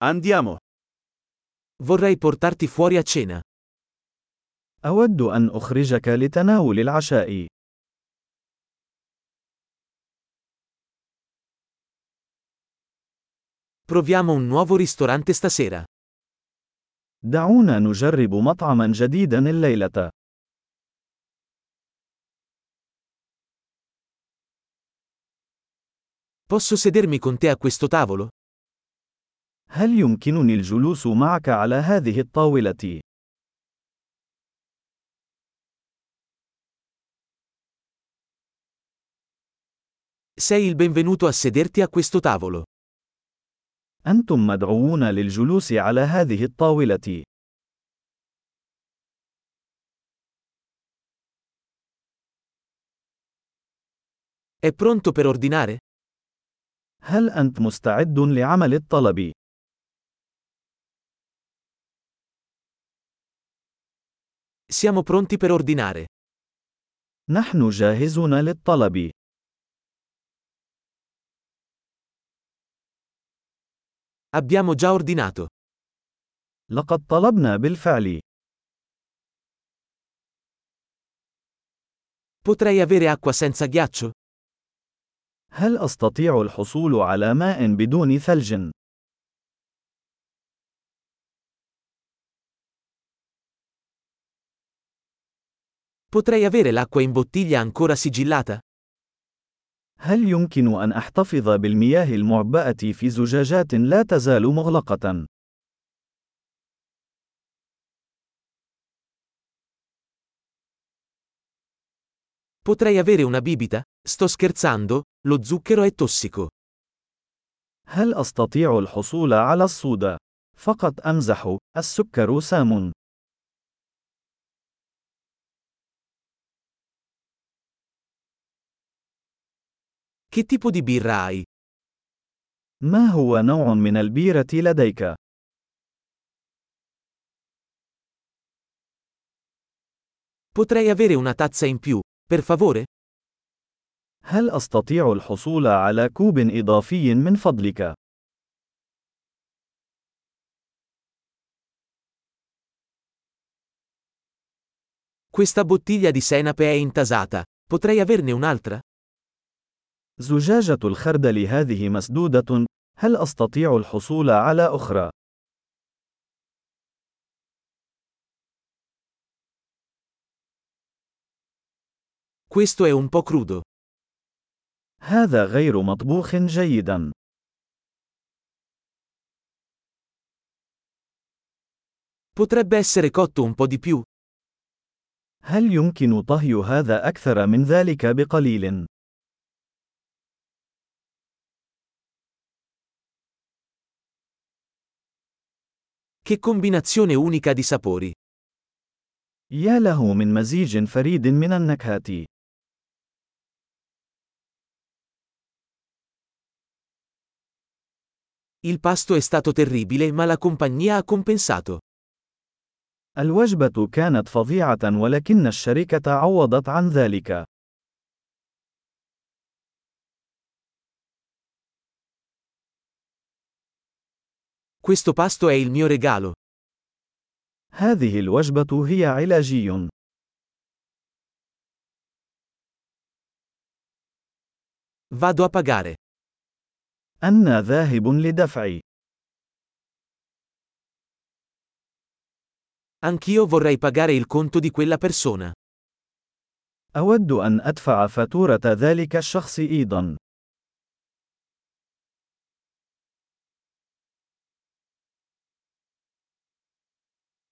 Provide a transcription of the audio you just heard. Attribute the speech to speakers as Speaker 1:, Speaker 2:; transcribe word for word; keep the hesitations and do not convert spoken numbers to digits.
Speaker 1: Andiamo.
Speaker 2: Vorrei portarti fuori a cena.
Speaker 3: أود أن أخرجك لتناول العشاء.
Speaker 2: Proviamo un nuovo ristorante stasera.
Speaker 3: دعونا نجرب مطعما جديدا الليلة.
Speaker 2: Posso sedermi con te a questo tavolo?
Speaker 3: هل يمكنني الجلوس معك على هذه الطاولة؟
Speaker 2: Sei il benvenuto a sederti a questo tavolo.
Speaker 3: أنتم مدعوون للجلوس على هذه الطاولة.
Speaker 2: È pronto per ordinare?
Speaker 3: هل أنت مستعد لعمل الطلب؟
Speaker 2: Siamo pronti per ordinare.
Speaker 3: نحن جاهزون للطلب.
Speaker 2: Abbiamo già ordinato.
Speaker 3: لقد طلبنا بالفعل.
Speaker 2: Potrei avere acqua senza ghiaccio?
Speaker 3: هل أستطيع الحصول على ماء بدون ثلج؟
Speaker 2: Potrei avere l'acqua in bottiglia ancora sigillata?
Speaker 3: هل يمكن أن أحتفظ بالمياه المعبأة في زجاجات لا تزال مغلقة؟
Speaker 2: Potrei avere una bibita? Sto scherzando, lo zucchero è tossico.
Speaker 3: هل أستطيع الحصول على الصودا؟ فقط أمزح، السكر سام.
Speaker 2: Che tipo di birra hai?
Speaker 3: ما هو نوع من البيرة لديك؟
Speaker 2: Potrei avere una tazza in più, per favore?
Speaker 3: هل أستطيع الحصول على كوب إضافي من فضلك؟
Speaker 2: Questa bottiglia di senape è intasata. Potrei averne un'altra?
Speaker 3: زجاجة الخردل هذه مسدودة. هل أستطيع الحصول على أخرى؟
Speaker 2: Questo è un po' crudo.
Speaker 3: هذا غير مطبوخ جيدا.
Speaker 2: Potrebbe essere cotto un po' di più.
Speaker 3: هل يمكن طهي هذا أكثر من ذلك بقليل؟
Speaker 2: Che combinazione unica di sapori.
Speaker 3: يا له من مزيج فريد من النكهات.
Speaker 2: Il pasto è stato terribile ma la compagnia ha compensato.
Speaker 3: الوجبة كانت فظيعة ولكن الشركة عوضت عن ذلك.
Speaker 2: Questo pasto è il mio regalo.
Speaker 3: هذه الوجبة هي علاجي.
Speaker 2: Vado a pagare.
Speaker 3: أنا ذاهب لدفع.
Speaker 2: Anch'io vorrei pagare il conto di quella persona.
Speaker 3: أود أن أدفع فاتورة ذلك الشخص أيضا.